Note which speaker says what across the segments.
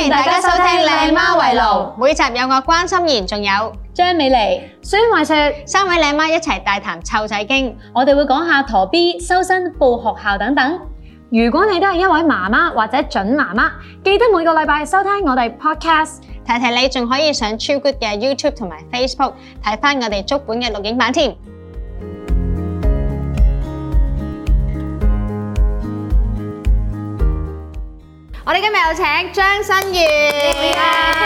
Speaker 1: 迎大家收聽靚媽圍爐，每集有我關心妍，仲有
Speaker 2: 張美妮、孫慧雪
Speaker 1: 三位靚媽一齊大談湊仔經，
Speaker 2: 我哋會講下陀 B、收生、報學校等等。如果你都係一位媽媽或者準媽媽，記得每個禮拜收聽我哋 podcast。
Speaker 1: 提提你仲可以上超 good 嘅 YouTube 同埋 Facebook 睇返我哋足本嘅錄影版添。我哋今日有請張新月。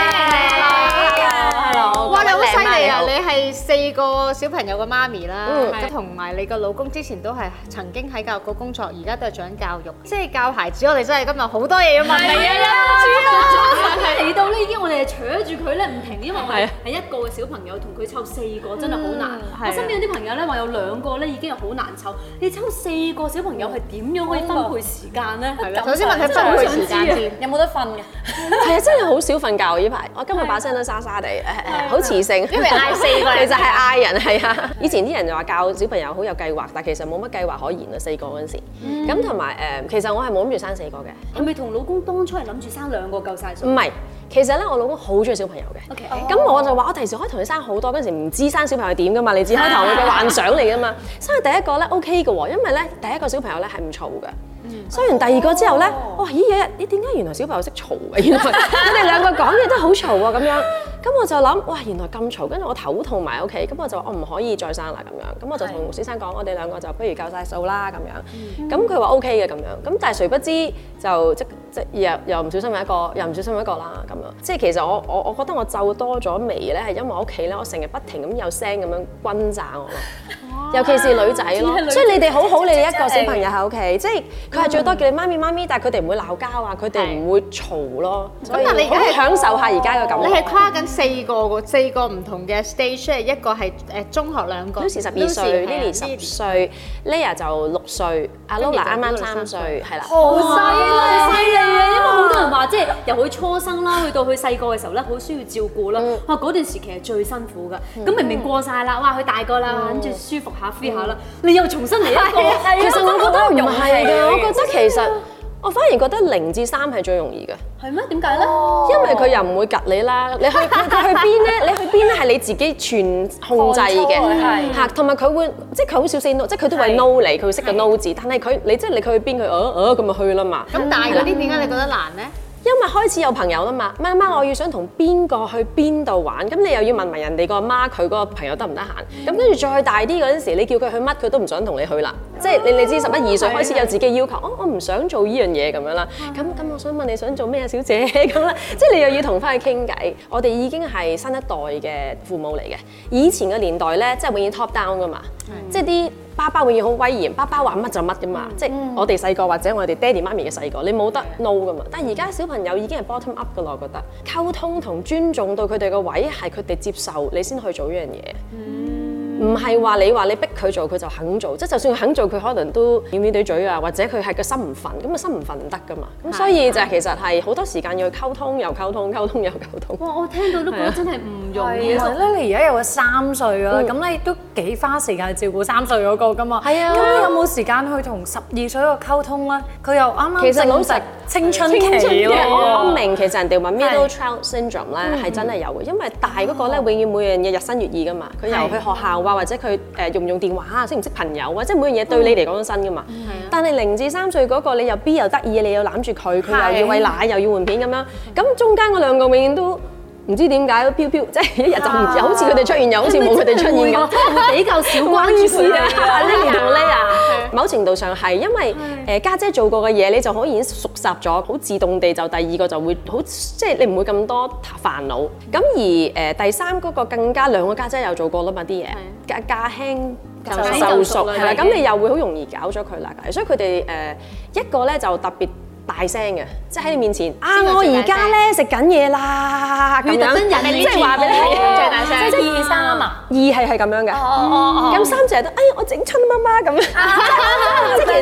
Speaker 1: 哇，你好犀利啊！你係4個小朋友嘅媽咪啦，同埋你個老公之前都係曾經喺教育局工作，而家都係做緊教育，即係教孩子。我哋真係今日好多嘢要問你啊！
Speaker 3: 嚟到咧已經我哋係扯住佢咧唔停，因為我係一個嘅小朋友同佢湊4個真係好難。我身邊有啲朋友咧話有2個咧已經係好難湊，你湊4個小朋友係點樣可以分配時間咧？
Speaker 1: 首先問佢分配時間先，
Speaker 3: 有冇得瞓嘅？
Speaker 4: 係啊，真係好少瞓覺呢排。我今日把聲都沙沙地，好磁性，
Speaker 1: 因為嗌4個，
Speaker 4: 其實係嗌人係啊。以前啲人就話教小朋友好有計劃，但其實冇乜計劃可言啊。4個嗰陣時，咁同埋其實我係冇諗住生4個嘅。
Speaker 3: 係咪同老公當初係諗住生2個夠晒數？
Speaker 4: 唔係，其實咧我老公好中意小朋友嘅。咁我就話我第時可以同你生好多，嗰陣時唔知生小朋友點噶嘛，你只開頭嘅幻想嚟噶嘛。生第一個咧 OK 嘅喎，因為咧第一個小朋友咧係唔嘈嘅。生完第2個之後咧，哇！咦點解原來小朋友識嘈嘅？原來佢哋2個講嘢都好嘈喎咁樣。咁我就諗，哇！原來咁嘈，跟住我頭痛埋屋企，咁我就話我唔可以再生啦咁樣。咁我就同先生講，我哋2個就不如夠晒數啦咁樣。咁佢話 OK 嘅咁樣。咁但係誰不知就即又唔小心一個，又唔小心一個啦咁樣。即係其實我覺得我皺多咗眉咧，係因為我屋企咧，我成日不停咁有聲咁樣轟炸我咯。尤其是女仔咯，所以你哋好好，你哋一個小朋友喺屋企，即係佢係最多叫你媽咪媽咪，但係佢哋唔會鬧交啊，佢哋唔會嘈咯。所以你而家係享受下而家嘅感覺。
Speaker 1: 你係跨緊4個喎，4個唔同嘅 stage，一個係中學2個
Speaker 4: Lucy 12歲 ，Lily 10歲 ，Leah 就6歲，阿 Lola 啱啱3歲，係啦。
Speaker 3: 好犀利啊！因為好多人話即係由佢初生啦，去到佢細個嘅時候咧，好需要照顧啦。哇！嗰段時期係最辛苦㗎。咁明明過晒啦，哇！佢大個啦，跟住舒服下 free 下啦，你又重新嚟一個。
Speaker 4: 其實我覺得唔係㗎，我覺得其實我反而覺得0至3係最容易嘅。
Speaker 3: 係咩？點解咧？
Speaker 4: 因為佢又唔會趌你啦，你去邊咧？你去邊咧係你自己全控制嘅，嚇，同埋佢會即係佢好少 say no，即係佢都會 no 你，佢會識個 no 字，但係佢你即係你佢去邊佢咁咪去啦嘛。
Speaker 1: 咁大嗰啲點解你覺得難咧？
Speaker 4: 因為開始有朋友啦嘛，媽我要想同邊個去邊度玩，咁你又要問埋人哋個媽佢嗰個朋友得唔得閒，咁跟住再大啲嗰陣時，你叫佢去乜佢都唔想同你去啦，即係你知11、2歲開始有自己要求，我唔想做呢樣嘢咁樣啦，咁我想問你想做咩啊，小姐咁啦，即係你又要同翻佢傾偈。我哋已經係新一代嘅父母嚟嘅，以前嘅年代咧，即係永遠 top down 噶嘛，即係啲爸爸永遠好威嚴，爸爸話乜就乜噶嘛，即係我哋細個或者我哋爹哋媽咪嘅細個，你冇得 no 噶嘛。但係而家小朋友已經係 bottom up 噶啦，我覺得溝通同尊重到佢哋個位係佢哋接受你先去做呢樣嘢。唔係話你逼佢做佢就肯做，即係就算佢肯做佢可能都掩掩對嘴啊，或者佢係個心唔憤，咁啊心唔憤唔得噶嘛。咁所以就其實係好多時間要去溝通又溝通，溝通又溝通。
Speaker 3: 哇！我聽到都覺得真係唔容易。
Speaker 5: 其實咧，你而家有個3歲啦，咁你都幾花時間照顧3歲嗰個噶嘛？
Speaker 4: 係啊。
Speaker 5: 咁你有冇時間去同12歲個溝通咧？佢又啱啱
Speaker 4: 其實老實
Speaker 5: 青春期咯。
Speaker 4: 我明其實人哋話 middle child syndrome 咧係真係有嘅，因為大嗰個咧永遠每樣嘢日新月異噶嘛。佢由去學校啊，或者佢用唔用電話啊，識唔識朋友啊，即係每樣嘢對你嚟講都新㗎嘛。但係0至3歲嗰個，你又 B 又得意，你又攬住佢，佢又要餵奶又要換片咁樣，咁中間嗰2個永遠都唔知點解飄飄，即係一日就唔又好似佢哋出現，又好似冇佢哋出現咁，
Speaker 3: 會比較少關注佢哋。
Speaker 4: Lily 同 Leah，某程度上係因為家姐做過嘅嘢，你就可以已經熟習咗，好自動地就第2個就會好，即係你唔會咁多煩惱。咁而第3嗰個更加2個家姐又做過啦嘛啲嘢，駕輕就熟係啦，咁你又會好容易搞咗佢啦。所以佢哋一個咧就特別大聲嘅，即係喺你面前我而家咧食緊嘢啦咁樣，即係話俾你聽最大聲，
Speaker 5: 即係2、3啊，
Speaker 4: 2係咁樣嘅，咁3就係我整親媽媽咁樣，即係其實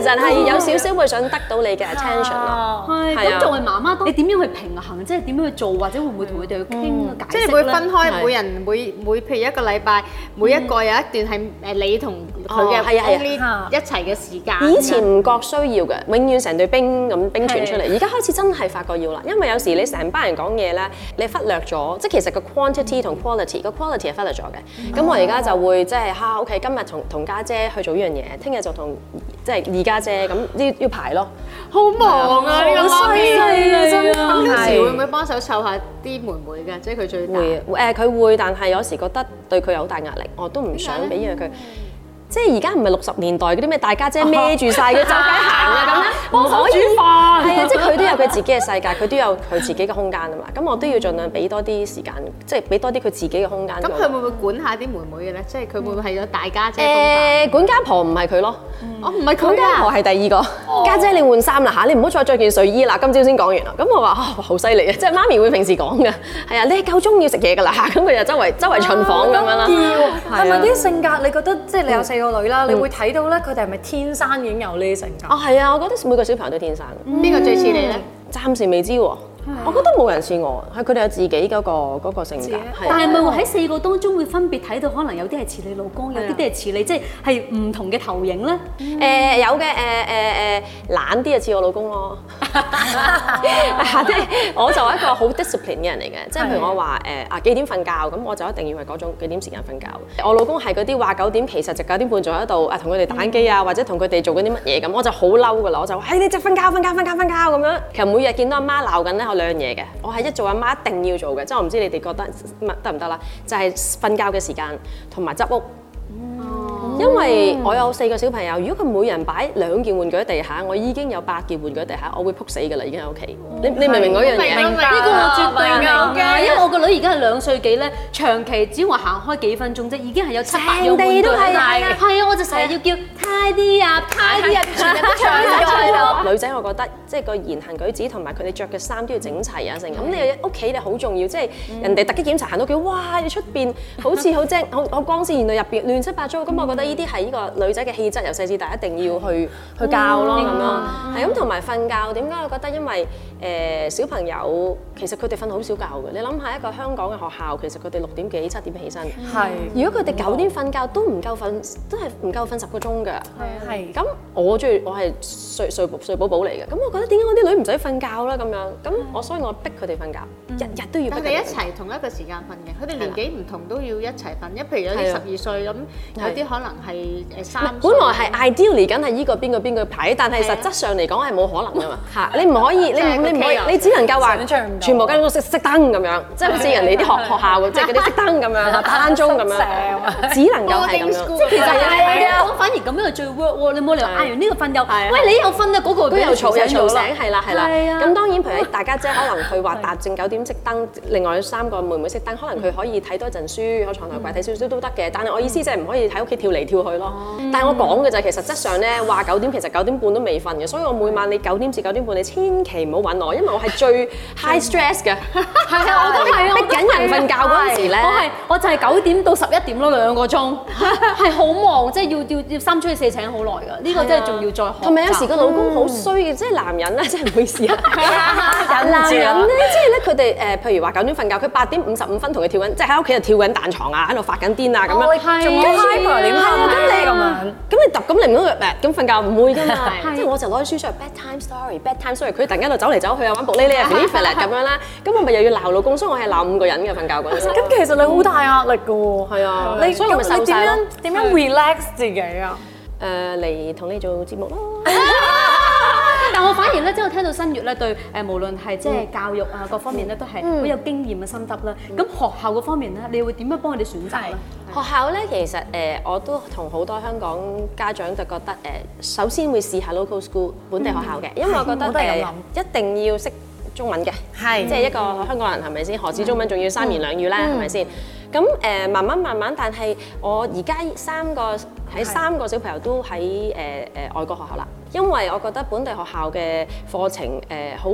Speaker 4: 實係有少少會想得到你嘅 attention 咯。
Speaker 3: 係咁，作為媽媽，你點樣去平衡？即係點樣去做，或者會唔會同佢哋去傾解釋咧？
Speaker 1: 即係會分開每人每譬如一個禮拜，每一個有一段係你同佢嘅 only 一齊嘅時間。
Speaker 4: 以前唔覺需要嘅，永遠成隊兵咁兵團出嚟。而家開始真係發覺要啦，因為有時你成班人講嘢咧，你忽略咗，即係其實個 quantity 同 quality 個 quality 係忽略咗嘅。咁我而家就會即係OK，今日同家姐去做呢樣嘢，聽日就同即係二家姐咁要排咯。
Speaker 1: 好忙啊！呢個媽咪
Speaker 3: 啊，真係。
Speaker 1: 咁有時會唔會幫手湊下啲妹妹嘅？即係佢最大。
Speaker 4: 佢會，但係有時覺得對佢有好大壓力，我都唔想俾嘢佢。即係而家唔係60年代嗰啲咩大家姐孭住晒佢周街行啊咁樣，唔可以煮飯。係啊，即係佢都有佢自己嘅世界，佢都有佢自己嘅空間啊嘛。咁我都要盡量俾多啲時間，即係俾多啲佢自己嘅空間。
Speaker 1: 咁佢會唔會管下啲妹妹嘅咧？即係佢會唔會係咗大家姐？
Speaker 4: 管家婆唔係佢咯，
Speaker 1: 我唔係佢
Speaker 4: 管家婆係第二個。家姐你換衫啦嚇，你唔好再着件睡衣啦。今朝先講完啦。咁我話好犀利啊！即係媽咪會平時講嘅，係啊，你夠鐘要食嘢㗎啦嚇。咁佢就周圍巡房咁樣啦。
Speaker 5: 係咪啲性格？你覺得即係你有4個女啦，你會睇到咧佢哋係咪天生已經有呢啲性格？
Speaker 4: 係啊，我覺得每個小朋友都天生。
Speaker 1: 邊個最似你咧？
Speaker 4: 暫時未知喎。我覺得冇人似我，係佢哋有自己嗰個性格。
Speaker 3: 但係咪會喺4個當中會分別睇到，可能有啲係似你老公，有啲係似你，即係唔同嘅投影咧？
Speaker 4: 有嘅懶啲就似我老公咯。即係我就係一個好 discipline 嘅人嚟嘅，即係譬如我話幾點瞓覺，咁我就一定要係嗰種幾點時間瞓覺。我老公係嗰啲話9點，其實就9點半仲喺度同佢哋打機啊，或者同佢哋做緊啲乜嘢咁，我就好嬲㗎啦，我就話你就瞓覺咁樣。其實每日見到阿媽鬧緊咧，我2樣嘢嘅，我係一做阿媽一定要做嘅，即係我唔知你哋覺得得唔得啦，就係瞓覺嘅時間同埋執屋。因為我有4個小朋友，如果佢每人擺2件玩具喺地下，我已經有8件玩具喺地下，我會撲死㗎啦，已經喺屋企。你明唔明嗰樣嘢？
Speaker 3: 呢個我絕對明㗎，因為我個女而家係2歲幾咧，長期只要我行開幾分鐘啫，已經係有7、8樣玩具喺度。係啊，我就成日要叫 tidy up，全日都唱咗。
Speaker 4: 女仔我覺得即係個言行舉止同埋佢哋着嘅衫都要整齊啊，成咁你屋企你好重要，即係人哋突擊檢查行到屋企，哇！你出邊好似好精好光鮮，原來入邊亂七八糟，咁我覺得呢啲係呢個女仔嘅氣質，由細至大一定要去教咯咁樣。係咁，同埋瞓覺點解我覺得？因為小朋友其實佢哋瞓好少覺嘅。你諗下一個香港嘅學校，其實佢哋6點幾7點起身。
Speaker 5: 係。
Speaker 4: 如果佢哋9點瞓覺都唔夠瞓，都係唔夠瞓10個鐘㗎。
Speaker 5: 係。
Speaker 4: 咁我係睡寶寶嚟嘅。咁我覺得點解我啲女唔使瞓覺啦咁樣？所以我逼佢哋瞓覺，日日都要逼佢哋。
Speaker 1: 佢哋一齊同一個時間瞓嘅，佢哋年紀唔同都要一齊瞓。譬如有啲12歲咁，有啲可能係3歲。
Speaker 4: 本來係 ideally 緊係依個邊個排，但係實質上嚟講係冇可能㗎嘛。嚇！你唔可以，你只能夠話全部間屋熄燈咁樣，即係好似人哋啲學校即係嗰啲熄燈咁樣，打鐘咁樣，只能夠係咁樣。
Speaker 3: 即係其實我反而咁樣係最 work 喎。你冇理由嗌完呢個瞓又，喂你又瞓啊嗰個
Speaker 4: 佢又嘈醒，係啦。
Speaker 3: 係啊。
Speaker 4: 咁當然譬如大家姐可能佢話達正9點熄燈，另外3個妹妹熄燈，可能佢可以睇多陣書，喺床頭櫃睇少少都得嘅。但係我意思即係唔可以喺屋企跳嚟跳去咯。但係我講嘅就係其實質上咧話9點，其實9點半都未瞓嘅，所以我每晚你9點至9點半你千祈唔好揾我，因為我係最 high stress 嘅。係啊，我都係逼緊人瞓覺嗰陣時咧，
Speaker 3: 我就係9點到11點咯，2個鐘係好忙，即係要3出去4請好耐㗎。呢個真係仲要再學。
Speaker 4: 同埋有時個老公好衰嘅，即係男人咧，真係唔好意思啊。男人咧，即係咧佢哋譬如話9點瞓覺，佢8點55分同佢跳緊，即係喺屋企就跳緊彈床啊，喺度發緊癲啊咁樣。
Speaker 5: 仲要 hyper 點
Speaker 4: 咁你揼咁你唔通咁瞓覺唔會㗎嘛？即係我就攞啲書出嚟 bedtime story，佢突然間就走嚟走去啊玩卜哩哩啊 flirt 咁樣啦，咁我咪又要鬧老公，所以我係鬧5個人嘅瞓覺嗰陣時。
Speaker 5: 咁其實你好大壓力㗎喎。
Speaker 4: 係啊，
Speaker 5: 所以咪受晒咯。點樣 relax 自己啊？
Speaker 4: 嚟同你做節目咯。
Speaker 3: 但我反而咧，即係我聽到新月咧對無論係即係教育啊各方面咧，都係好有經驗嘅心得啦。咁學校嗰方面咧，你會點樣幫佢哋選擇咧？
Speaker 4: 學校咧，其實我都同好多香港家長就覺得首先會試下 local school 本地學校嘅，因為我覺得一定要識中文嘅，即係一個香港人係咪先？何止中文，仲要3言2語咧，係咪先？咁慢慢，但係我而家3個小朋友都喺外國學校啦，因為我覺得本地學校嘅課程好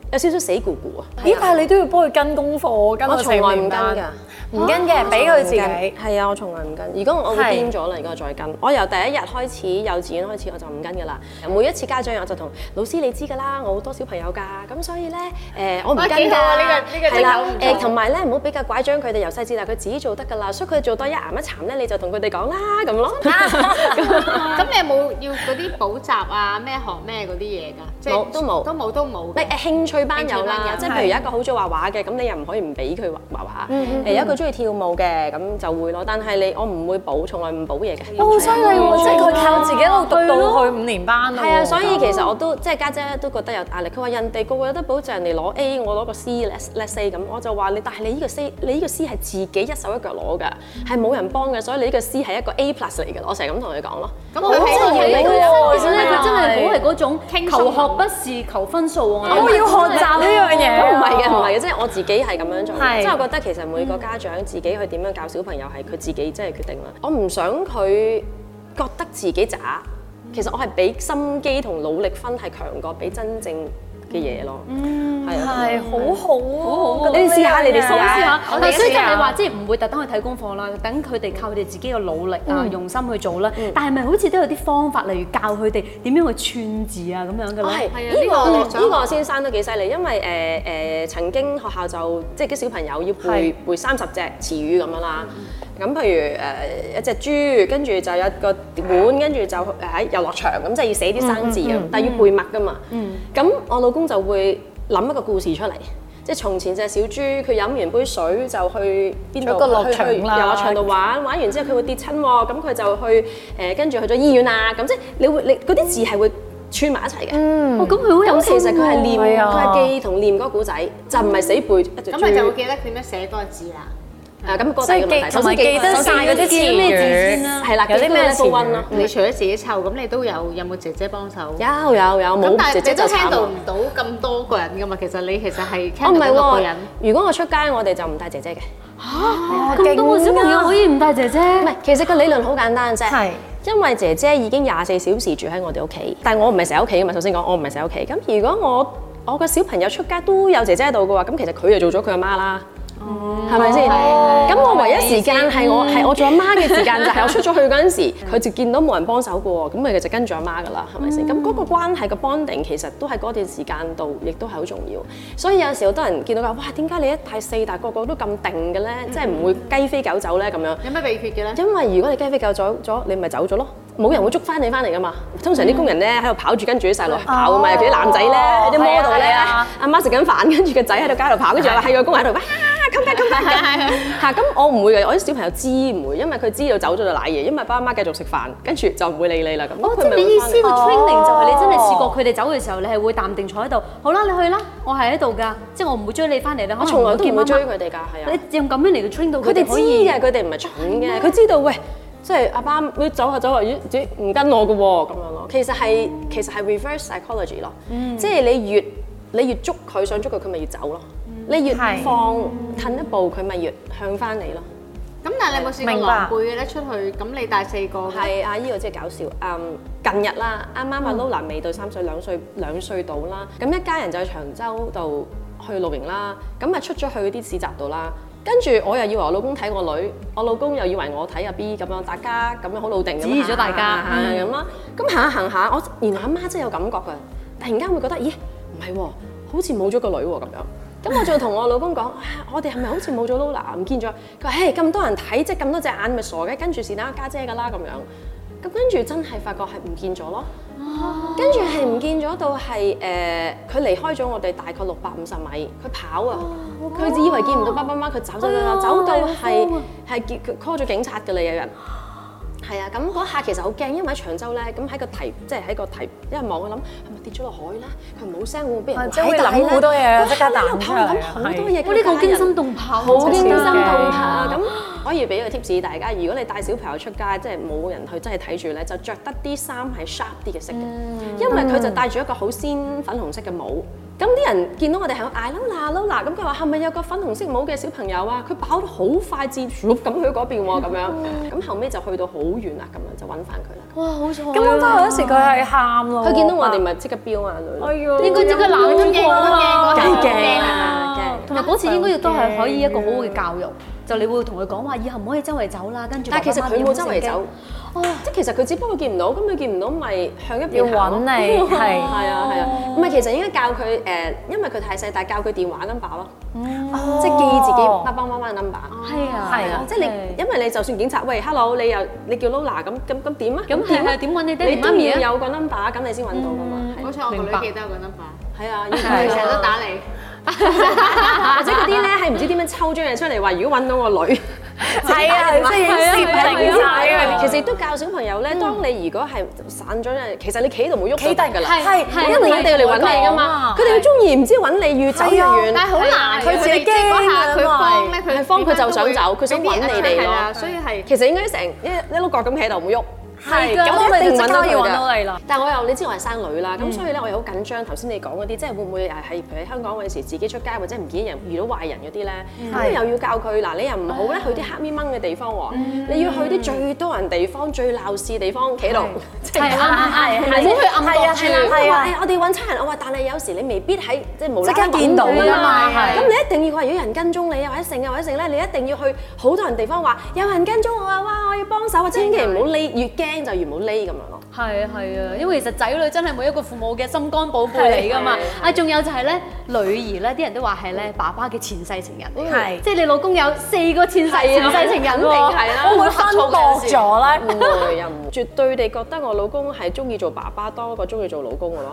Speaker 4: 有少少死咕咕啊。
Speaker 5: 咦？但係你都要幫佢跟功課，跟到
Speaker 4: 我從來唔跟
Speaker 5: 4
Speaker 4: 㗎。
Speaker 5: 唔跟嘅，俾佢自己。
Speaker 4: 係啊，我從來唔跟。如果我會癲咗啦，如果我再跟，我由第一日開始幼稚園開始我就唔跟㗎啦。每一次家長我就同老師你知㗎啦，我好多小朋友㗎，咁所以咧我唔跟㗎。
Speaker 1: 幾好啊！呢個
Speaker 4: 係啦，同埋咧唔好俾個拐杖佢哋由細至大，佢自己做得㗎啦。所以佢哋做多一岩一殘咧，你就同佢哋講啦咁咯。
Speaker 1: 咁你有冇要嗰啲補習啊？咩學咩嗰啲嘢㗎？即係都冇。
Speaker 4: 興趣班有啦，即係譬如有一個好中意畫畫嘅，咁你又唔可以唔俾佢畫畫。有一個中意跳舞嘅，咁就會咯。但係我唔會補，從來唔補嘢嘅。
Speaker 5: 好犀利喎！即係佢靠自己一路讀到去5年班咯。
Speaker 4: 係啊，所以其實我都即係家姐都覺得有壓力。佢話人哋個個有得補，就人哋攞 A，我攞個 C，let's say 咁，我就話你，但係你呢個 C 係自己一手一腳攞㗎，係冇人幫嘅，所以你呢個 C 係一個 A+ 嚟嘅。我成日咁同佢講咯。
Speaker 1: 咁佢真係
Speaker 3: 其實咧，佢真係好係嗰種
Speaker 1: 傾
Speaker 3: 求學不是求分數啊！
Speaker 5: 我要學習呢樣嘢。
Speaker 4: 唔係嘅，即係我自己係咁樣做。即係我覺得其實每個家長自己去點樣教小朋友係佢自己即係決定啦。我唔想佢覺得自己渣，其實我係俾心機同努力分係強過俾真正嘅嘢咯。
Speaker 5: 係好好啊！
Speaker 4: 你試下，你哋試
Speaker 3: 試
Speaker 4: 下。
Speaker 3: 但係所以即係你話即係唔會特登去睇功課啦，等佢哋靠佢哋自己嘅努力啊、用心去做啦。但係咪好似都有啲方法，例如教佢哋點樣去串字啊咁樣嘅咧？
Speaker 4: 呢個先生都幾犀利，因為曾經學校就即係啲小朋友要背30隻詞語咁樣啦。咁譬如一隻豬，跟住就有個碗，跟住就喺遊樂場咁，即係要寫啲生字咁，但係要背默㗎嘛。咁我老公就會諗一個故事出嚟，即係從前隻小豬佢飲完杯水就去邊度？去遊樂場度玩完之後佢會跌親喎，咁佢就去跟住去咗醫院啊。咁即係你嗰啲字係會串埋一齊嘅。
Speaker 3: 咁佢好有
Speaker 4: 其實佢係念，佢係記同念嗰個故仔，就唔係死背一隻豬。
Speaker 1: 咁你就會記得點樣寫嗰個字啦。
Speaker 4: 咁個第二個問題，
Speaker 5: 同埋記得晒嗰啲詞
Speaker 3: 咩字先啦？
Speaker 4: 係啦，有啲咩詞語咯？
Speaker 1: 你除咗自己湊，咁你都有冇姐姐幫手？
Speaker 4: 有，冇姐姐就慘。
Speaker 1: 咁但係你都 handle 唔到咁多個人㗎嘛？其實你其實係
Speaker 4: handle 到6個
Speaker 1: 人。
Speaker 4: 如果我出街，我哋就唔帶姐姐嘅。
Speaker 3: 咁多個小朋友可以唔帶姐姐？
Speaker 4: 唔係，其實個理論好簡單啫。
Speaker 5: 係。
Speaker 4: 因為姐姐已經24小時住喺我哋屋企，但係我唔係成日屋企㗎嘛。首先講，我唔係成日屋企。咁如果我個小朋友出街都有姐姐喺度嘅話，咁其實佢就做咗佢阿媽啦。係咪先？咁我唯一時間係我做阿媽嘅時間，就係我出咗去嗰陣時，佢就見到冇人幫手嘅喎，咁咪就跟住阿媽㗎啦，係咪先？咁嗰個關係個 bonding 其實都喺嗰段時間度，亦都係好重要。所以有時好多人見到話，哇，點解你1帶4，但係個個都咁定嘅咧？即係唔會雞飛狗走咧咁樣。
Speaker 1: 有咩秘訣嘅咧？
Speaker 4: 因為如果你雞飛狗走咗，你咪走咗咯。冇人會捉翻你翻嚟㗎嘛。通常啲工人咧喺度跑住跟住啲細路跑㗎嘛，尤其啲男仔咧，啲 model 咧，阿媽食緊飯，跟住個仔喺度街度跑，跟住係個工人喺度咁我唔會嘅，我啲小朋友知唔會，因為佢知道走咗就賴嘢，因為爸媽繼續食飯，跟住就唔會理你啦咁。
Speaker 3: 即係你意思個 training 就係你真係試過佢哋走嘅時候，你係會淡定坐喺度，好啦，你去啦，我係喺度㗎，即係我唔會追你翻嚟啦。
Speaker 4: 我從來都唔會追佢哋㗎，係啊。
Speaker 3: 你用咁樣嚟到 train 到
Speaker 4: 佢哋知嘅，佢哋唔係蠢嘅，佢知道喂，即係阿爸你走下，咦唔跟我㗎喎咁樣咯。其實係 reverse psychology 咯，即係你越捉佢想捉佢，佢咪越走咯。你越放褪一步，佢咪越向翻你咯。
Speaker 1: 咁但係你有冇試過狼狽嘅咧？出去咁你帶4個？
Speaker 4: 係啊，依個真係搞笑。近日啦，啱啱阿 Lola 未到3歲，2歲到啦。咁一家人就去長洲度去露營啦。咁啊出咗去嗰啲市集度啦。跟住我又以為我老公睇我女，我老公又以為我睇阿 B 咁樣，大家咁樣好老定咁。
Speaker 3: 指意咗大家
Speaker 4: 咁啦。咁行下，我原來阿媽真係有感覺㗎。突然間會覺得，咦唔係喎，好似冇咗個女喎咁樣。咁我就同我老公講，我哋係咪好似冇咗 Lola 唔見咗？佢話：嘿，咁多人睇，即係咁多隻眼，咪傻嘅，跟住是但家姐㗎啦咁樣。咁跟住真係發覺係唔見咗咯。跟住係唔見咗到係佢離開咗我哋大概650米，佢跑啊！佢以為見唔到爸爸媽媽，佢走到係叫佢 call 咗警察㗎啦，有人。係啊，咁嗰下其實好驚，因為喺長洲咧，咁喺個堤，即係喺個堤，一望我諗係咪跌咗落海咧？佢冇聲會唔會俾人
Speaker 5: 即係會諗好多嘢，即刻彈出嚟。
Speaker 4: 好多嘢，
Speaker 3: 呢個驚心動魄，
Speaker 4: 好驚心動魄啊！咁可以俾個 tips 大家，如果你帶小朋友出街，即係冇人去真係睇住咧，就着得啲衫係 sharp 啲嘅色嘅，因為佢就戴住一個好鮮粉紅色嘅帽。 咁啲人見到我哋係嗌 Lola，咁佢話係咪有個粉紅色帽嘅小朋友啊？佢跑得好快捷，咁去嗰邊喎咁樣。咁後尾就去到好遠啦，咁樣就揾翻佢啦。
Speaker 3: 哇，好彩！
Speaker 5: 咁我嗰時佢係喊咯，
Speaker 4: 佢見到我哋咪即刻飆眼淚。
Speaker 5: 哎呀，
Speaker 3: 應該即刻冷咗驚啊！
Speaker 4: 驚啊！
Speaker 3: 同埋嗰次應該亦都係可以一個好好嘅教育，就你會同佢講話，以後唔可以周圍走啦，跟住。
Speaker 4: 但係其實佢冇周圍走。哦，即係其實佢只不過見唔到，咁佢見唔到咪向一邊
Speaker 5: 要揾你，係
Speaker 4: 啊，唔係其實應該教佢因為佢太細，但係教佢電話 number 咯，即係記自己爸爸媽媽嘅 number。
Speaker 3: 係啊，
Speaker 4: 即係你，因為你就算警察喂 hello， 你叫 Lola 咁點啊？
Speaker 3: 咁係點揾你爹哋媽咪啊？
Speaker 4: 你都要有個 number， 咁你先揾到噶嘛。
Speaker 1: 好彩我個女記得有個 number。
Speaker 4: 係啊，
Speaker 1: 佢成日都打你。
Speaker 4: 或者嗰啲咧係唔知點樣抽張嘢出嚟話，如果揾到個女。
Speaker 5: 係啊，即係影攝係晒啊！
Speaker 4: 其實亦都教小朋友咧，當你如果係散咗咧，其實你企喺度冇喐
Speaker 5: 企低
Speaker 4: 㗎啦，
Speaker 5: 係
Speaker 4: 因為佢哋嚟揾你㗎嘛，佢哋中意唔知揾你越走越遠，
Speaker 1: 但係好難，
Speaker 5: 佢自己驚啊！
Speaker 1: 佢幫咧，
Speaker 4: 佢幫佢就想走，佢想揾你哋咯，
Speaker 1: 所以係
Speaker 4: 其實應該成一碌角咁企喺度冇喐。
Speaker 5: 係，咁我哋即刻要揾到你啦。
Speaker 4: 但係我又你知我係生女啦，咁所以咧我又好緊張。頭先你講嗰啲，即係會唔會係譬如喺香港嗰陣時自己出街或者唔見人遇到壞人嗰啲咧，咁又要教佢嗱，你又唔好咧去啲黑咪掹嘅地方喎，你要去啲最多人地方、最鬧事地方企度，即係
Speaker 3: 唔好去暗角處。
Speaker 4: 係啊，我哋揾差人，我話但係有時你未必喺即係無啦啦
Speaker 5: 見到㗎嘛，
Speaker 4: 咁你一定要話如果有人跟蹤你啊或者剩咧，你一定要去好多人地方話有人跟蹤我啊，哇我要幫手啊，千祈唔好匿，越驚就越唔好匿。咁樣咯，
Speaker 3: 係啊，因為其實仔女真係每一個父母嘅心肝寶貝嚟㗎嘛。啊，仲有就係咧，女兒咧，啲人都話係咧爸爸嘅前世情人，
Speaker 5: 係
Speaker 3: 即係你老公有4個前世情人
Speaker 4: 肯定
Speaker 3: 喎，
Speaker 4: 係啦，
Speaker 5: 會唔會分薄咗咧？
Speaker 4: 唔會又唔絕對地覺得我老公係中意做爸爸多過中意做老公嘅咯。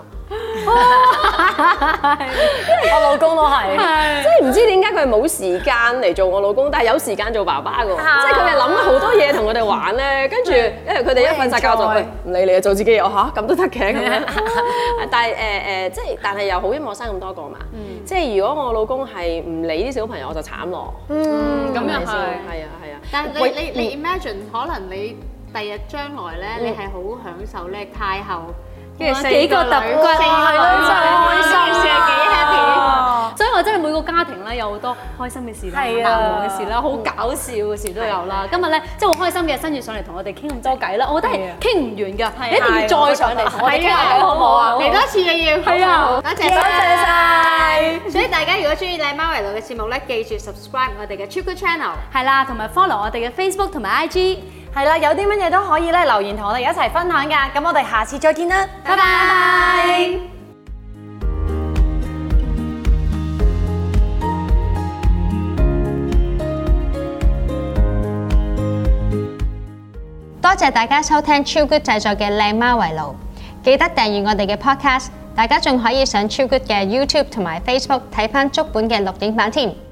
Speaker 5: 我老公都係，
Speaker 4: 即係唔知點解佢係冇時間嚟做我老公，但係有時間做爸爸嘅喎。即係佢哋諗咗好多嘢同我哋玩咧，跟住因為佢哋一瞓曬覺就唔理你啊，做自己嘢嚇咁都得嘅咁樣。但係即係但係又好，因為我生咁多個嘛。即係如果我老公係唔理啲小朋友，我就慘咯。
Speaker 3: 咁又係，
Speaker 4: 係啊。
Speaker 1: 但係你 imagine 可能你第日將來咧，你係好享受咧太后，跟住
Speaker 3: 幾個揼骨，
Speaker 1: 係咯，真係開心事幾 happy。
Speaker 3: 所以我真係每個家庭咧有好多開心嘅事啦，難忘嘅事啦，好搞笑嘅事都有啦。今日咧即係好開心嘅，新月上嚟同我哋傾咁多偈啦，我覺得係傾唔完㗎，你一定要再上嚟同我哋傾下偈，好唔好啊？
Speaker 1: 嚟多次嘅要。
Speaker 3: 係啊，
Speaker 1: 多謝晒。所以大家如果中意靚媽圍爐嘅節目咧，記住 subscribe 我哋嘅 Chill Good Channel，
Speaker 3: 係啦，同埋 follow 我哋嘅 Facebook 同埋 IG。
Speaker 5: 係啦，有啲乜嘢都可以咧留言同我哋一齊分享㗎。咁我哋下次再見啦，
Speaker 3: 拜拜。
Speaker 2: 多謝大家收聽超 good 製作嘅靚媽圍爐，記得訂閱我哋嘅 podcast，大家仲可以上超 good 嘅 YouTube 同埋 Facebook 睇返足本嘅錄影版添。